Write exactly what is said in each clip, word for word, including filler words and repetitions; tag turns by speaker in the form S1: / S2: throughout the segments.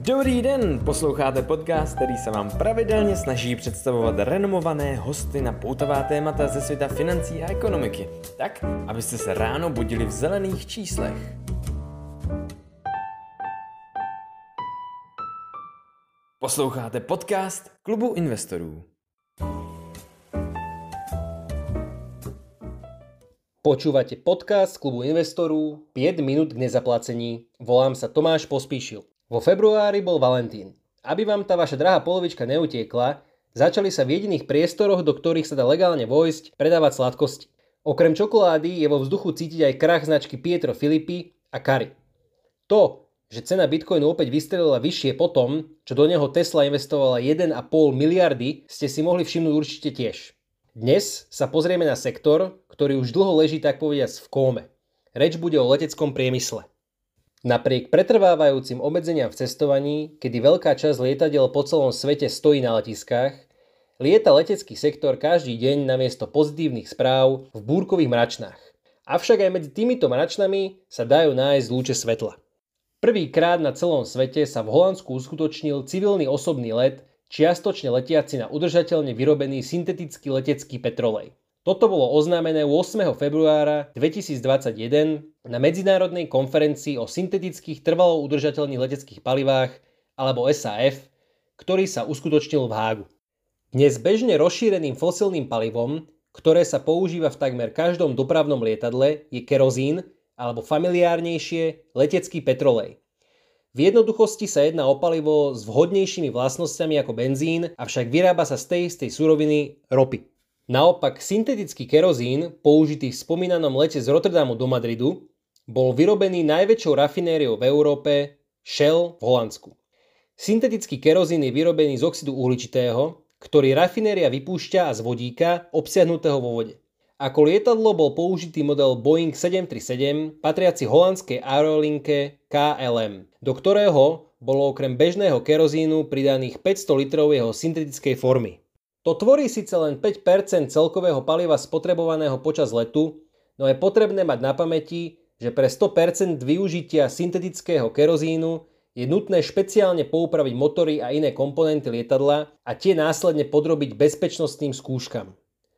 S1: Dobrý den, posloucháte podcast, který se vám pravidelně snaží představovat renomované hosty na poutavá témata ze světa financí a ekonomiky, tak, abyste se ráno budili v zelených číslech. Posloucháte podcast Klubu investorů.
S2: Počúvate podcast Klubu investorů päť minút k nezaplacení. Volám sa Tomáš Pospíšil. Vo februári bol Valentín. Aby vám tá vaša drahá polovička neutiekla, začali sa v jediných priestoroch, do ktorých sa dá legálne vojsť, predávať sladkosti. Okrem čokolády je vo vzduchu cítiť aj krach značky Pietro Filippi a Curry. To, že cena Bitcoinu opäť vystrelila vyššie po tom, čo do neho Tesla investovala jeden a pol miliardy, ste si mohli všimnúť určite tiež. Dnes sa pozrieme na sektor, ktorý už dlho leží tak povediac v kóme. Reč bude o leteckom priemysle. Napriek pretrvávajúcim obmedzeniam v cestovaní, kedy veľká časť lietadiel po celom svete stojí na letiskách, lieta letecký sektor každý deň namiesto pozitívnych správ v búrkových mračnách. Avšak aj medzi týmito mračnami sa dajú nájsť lúče svetla. Prvýkrát na celom svete sa v Holandsku uskutočnil civilný osobný let, čiastočne letiaci na udržateľne vyrobený syntetický letecký petrolej. Toto bolo oznámené ôsmeho februára dvetisícdvadsaťjeden na medzinárodnej konferencii o syntetických trvalo udržateľných leteckých palivách alebo es á ef, ktorý sa uskutočnil v Hágu. Dnes bežne rozšíreným fosilným palivom, ktoré sa používa v takmer každom dopravnom lietadle, je kerozín alebo familiárnejšie letecký petrolej. V jednoduchosti sa jedná o palivo s vhodnejšími vlastnosťami ako benzín, avšak vyrába sa z tej istej suroviny ropy. Naopak syntetický kerozín, použitý v spomínanom lete z Rotterdamu do Madridu, bol vyrobený najväčšou rafinériou v Európe, Shell v Holandsku. Syntetický kerozín je vyrobený z oxidu uhličitého, ktorý rafinéria vypúšťa a z vodíka obsiahnutého vo vode. Ako lietadlo bol použitý model Boeing sedemstotridsaťsedem, patriaci holandskej aerolinke ká el em, do ktorého bolo okrem bežného kerozínu pridaných päťsto litrov jeho syntetickej formy. To tvorí síce len päť percent celkového paliva spotrebovaného počas letu, no je potrebné mať na pamäti, že pre sto percent využitia syntetického kerozínu je nutné špeciálne poupraviť motory a iné komponenty lietadla a tie následne podrobiť bezpečnostným skúškam.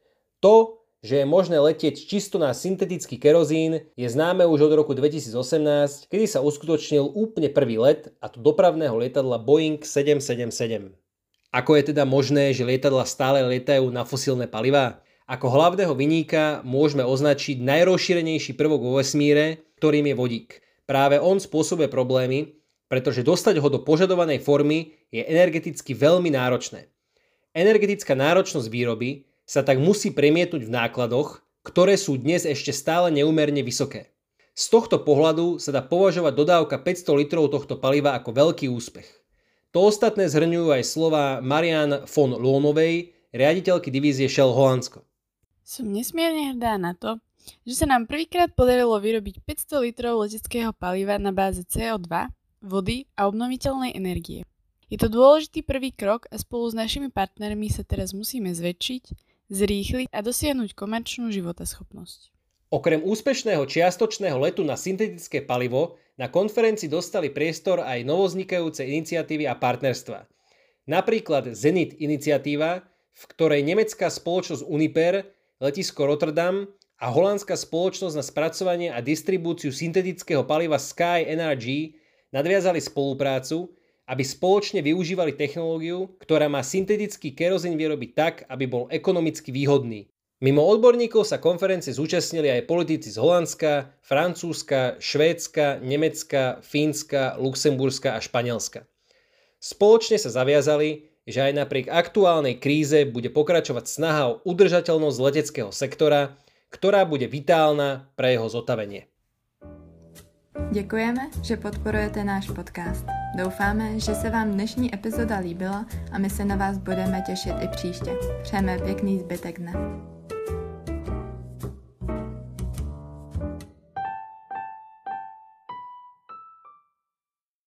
S2: To, že je možné letieť čisto na syntetický kerozín, je známe už od roku dvetisícosemnásť, kedy sa uskutočnil úplne prvý let, a to dopravného lietadla Boeing sedemstosedemdesiatsedem. Ako je teda možné, že lietadla stále lietajú na fosílne palivá? Ako hlavného viníka môžeme označiť najrozšírenejší prvok vo vesmíre, ktorým je vodík. Práve on spôsobuje problémy, pretože dostať ho do požadovanej formy je energeticky veľmi náročné. Energetická náročnosť výroby sa tak musí premietnúť v nákladoch, ktoré sú dnes ešte stále neúmerne vysoké. Z tohto pohľadu sa dá považovať dodávka päťsto litrov tohto paliva ako veľký úspech. To ostatné zhrňujú aj slova Marianne von Loonovej, riaditeľky divízie Shell Holandsko.
S3: Som nesmierne hrdá na to, že sa nám prvýkrát podarilo vyrobiť päťsto litrov leteckého paliva na báze cé o dva, vody a obnoviteľnej energie. Je to dôležitý prvý krok a spolu s našimi partnermi sa teraz musíme zväčšiť, zrýchliť a dosiahnuť komerčnú životaschopnosť.
S2: Okrem úspešného čiastočného letu na syntetické palivo na konferencii dostali priestor aj novovznikajúce iniciatívy a partnerstva. Napríklad Zenit iniciatíva, v ktorej nemecká spoločnosť Uniper, letisko Rotterdam a holandská spoločnosť na spracovanie a distribúciu syntetického paliva Sky Energy nadviazali spoluprácu, aby spoločne využívali technológiu, ktorá má syntetický kerozín vyrobiť tak, aby bol ekonomicky výhodný. Mimo odborníkov sa konferencie zúčastnili aj politici z Holandska, Francúzska, Švédska, Nemecka, Fínska, Luxemburska a Španielska. Spoločne sa zaviazali, že aj napriek aktuálnej kríze bude pokračovať snaha o udržateľnosť leteckého sektora, ktorá bude vitálna pre jeho zotavenie.
S4: Děkujeme, že podporujete náš podcast. Doufáme, že se vám dnešní epizoda líbila a my se na vás budeme těšit i příště. Přejeme pěkný zbytek dne.